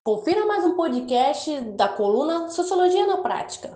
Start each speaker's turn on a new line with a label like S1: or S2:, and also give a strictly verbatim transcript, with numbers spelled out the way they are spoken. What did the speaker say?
S1: Confira mais um podcast da coluna Sociologia na Prática.